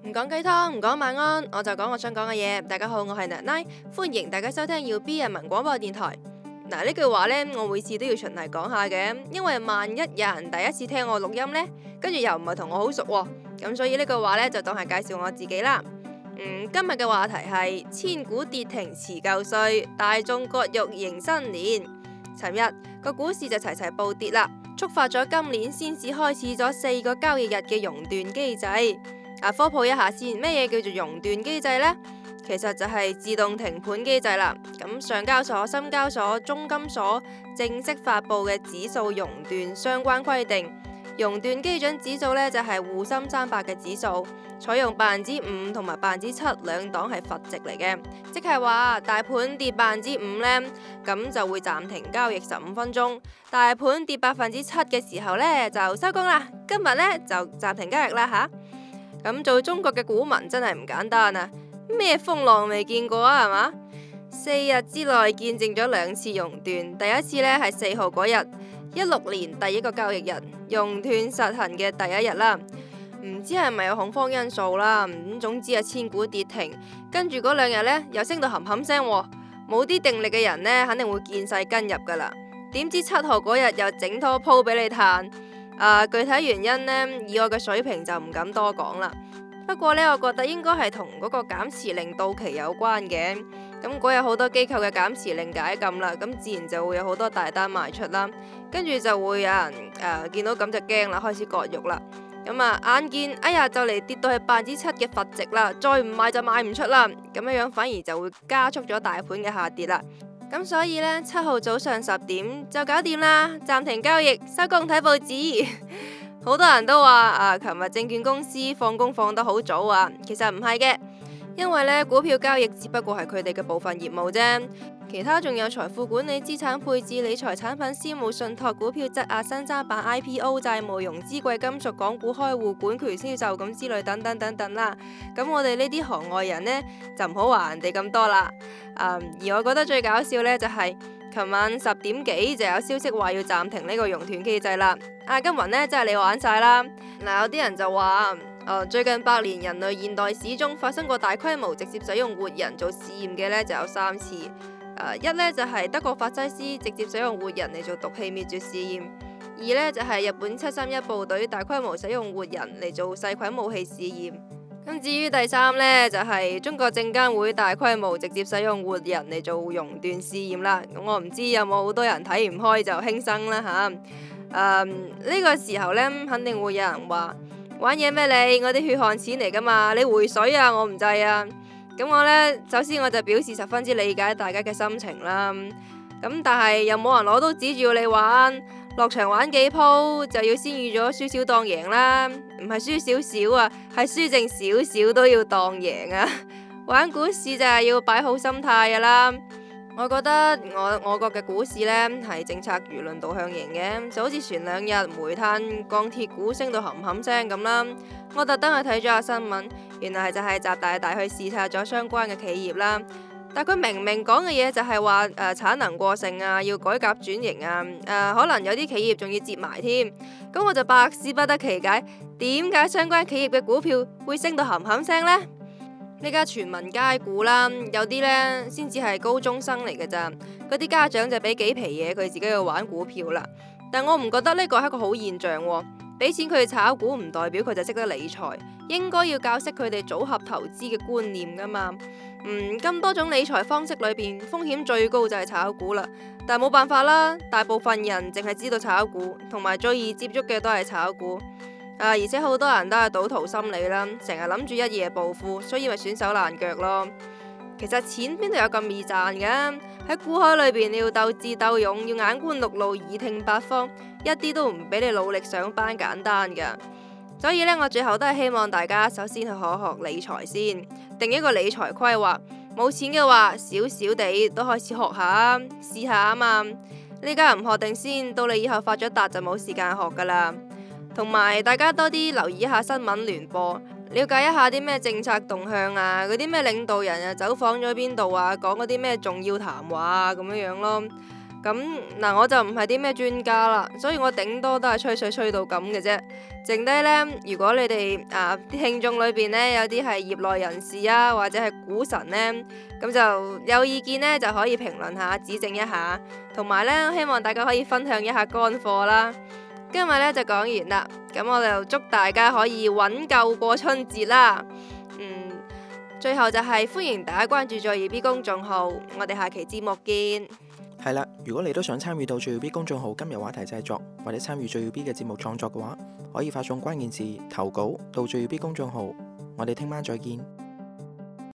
唔講雞湯，唔講晚安，我就講我想講嘅嘢。大家好，我係奶奶，歡迎大家收聽要 B 人民廣播電台。嗱，呢句話呢，我每次都要循例講下嘅，因為萬一有人第一次聽我錄音呢，跟住又唔係同我好熟喎，咁所以呢句話呢，就當係介紹我自己啦。今日嘅話題係千古跌停辭舊歲，大眾割肉迎新年。尋日個股市就齊齊暴跌啦，觸發咗今年先至開始咗4個交易日嘅熔斷機制。科普一下先，咩嘢叫做熔斷機制呢？其實就係自動停盤機制啦。咁上交所、深交所、中金所正式發布嘅指數熔斷相關規定，熔斷基準指數呢，就係滬深300嘅指數，採用5%同埋7%兩檔係閥值嚟嘅，即係話大盤跌5%呢，咁就會暫停交易15分鐘；大盤跌7%嘅時候呢，就收工啦。今日呢，就暫停交易啦吓。咁做中國嘅股民真係唔簡單啊！咩風浪未見過啊，係嘛？4日之內見證咗2次熔斷，第一次呢係4號嗰日，16年第一個交易日熔斷實行嘅第一日啦。唔知係咪有恐慌因素啦？總之係千股跌停，跟住嗰2日呢又升到冚冚聲，冇啲定力嘅人呢肯定會見勢跟入噶啦。點知7號嗰日又整多鋪俾你嘆。具體原因呢，以我嘅水平就唔敢多講啦。不過呢，我覺得應該係同嗰個減持令到期有關嘅。咁嗰日好多機構嘅減持令解禁啦，咁自然就會有好多大單賣出啦。跟住就會有人見到咁就驚啦，開始割肉啦。咁眼見哎呀就嚟跌到去7%嘅閥值啦，再唔買就賣唔出啦。咁樣反而就會加速咗大盤嘅下跌啦。咁所以呢，7號早上10點就搞掂啦，暫停交易，收工睇報紙。好多人都話琴日證券公司放工放得好早啊，其實唔係嘅，因為呢股票交易只不過係佢哋嘅部分業務啫，其他仲有財富管理、資產配置、理財產品、私募信託、股票質押、新三板、IPO、債務融資、貴金屬、港股開戶、管權銷售咁之類等等等等啦。咁我哋呢啲行外人呢，就唔好話人哋咁多啦。而我覺得最搞笑呢，就係琴晚10點幾就有消息話要暫停呢個熔斷機制啦。金雲呢，真係你玩晒啦。有啲人就話最近100年人類現代史中發生過大規模直接使用活人做試驗嘅呢，就有3次。一呢，就係德國法西斯直接使用活人嚟做毒氣滅絕試驗；2呢，就係日本731部隊大規模使用活人嚟做細菌武器試驗。咁至於第3呢，就係中國證監會大規模直接使用活人嚟做熔斷試驗啦。咁我唔知有冇好多人睇唔開就輕生啦吓。呢個時候呢，肯定會有人話玩嘢咩你？我啲血汗錢嚟噶嘛，你回水啊，我唔制啊。咁我呢，首先我就表示十分之理解大家嘅心情啦。咁但係又冇人攞刀指住要你玩，落場玩幾鋪就要先預咗輸少當贏啦，唔係輸少少啊，係輸剩少少都要當贏啊。玩股市就係要擺好心態噶啦。我覺得我國嘅股市呢係政策輿論導向型嘅，就好似前2日煤炭、鋼鐵股升到冚冚聲咁啦。我特登去睇咗下新聞，原來就係習大大去視察咗相關嘅企業啦。但佢明明講嘅嘢就係話產能過剩啊，要改革轉型啊，可能有啲企業仲要接埋添。咁我就百思不得其解，點解相關企業嘅股票會升到冚冚聲呢？呢家全民皆股啦，有啲呢先至係高中生嚟嘅咋，嗰啲家長就俾幾皮嘢佢自己去玩股票啦。但我唔覺得呢個係一個好現象喎，俾錢佢哋炒股唔代表佢就識得理財，應該要教識佢哋組合投資嘅觀念噶嘛。咁多種理財方式裏邊，風險最高就係炒股啦。但係冇辦法啦，大部分人淨係知道炒股，同埋最易接觸嘅都係炒股。而且好多人都係賭徒心理啦，成日諗住一夜暴富，所以咪損手爛腳咯。其實錢邊度有咁易賺㗎？喺股海裏邊，你要鬥智鬥勇，要眼觀六路，耳聽八方，一啲都唔比你努力上班簡單㗎。所以呢，我最後都係希望大家首先去學學理財先，定一個理財規劃。冇錢嘅話，少少地都開始學下，試下啊嘛。呢家唔學定先，到你以後發咗達就冇時間學噶啦。同埋大家多啲留意一下新聞聯播，了解一下啲咩政策動向啊，嗰啲咩領導人走訪咗邊度啊，講嗰啲咩重要談話啊咁樣咯。 咁嗱，我就唔係啲咩專家啦，所以我頂多都係吹水吹到咁嘅啫。剩低呢，如果你哋啲聽眾裏邊呢，有啲係業內人士啊，或者係股神呢，咁就有意見呢，就可以評論下，指正一下，同埋呢，希望大家可以分享一下乾貨啦。今日呢，就講完啦，咁我就祝大家可以穩夠過春節啦。最後就係歡迎大家關注最耀 B 公眾號，我哋下期節目見。 係啦，如果你都想參與到最耀 B 公眾號今日話題製作，或者參與最耀 B 嘅節目創作嘅話，可以發送關鍵字投稿到最耀 B 公眾號。我哋聽晚再見。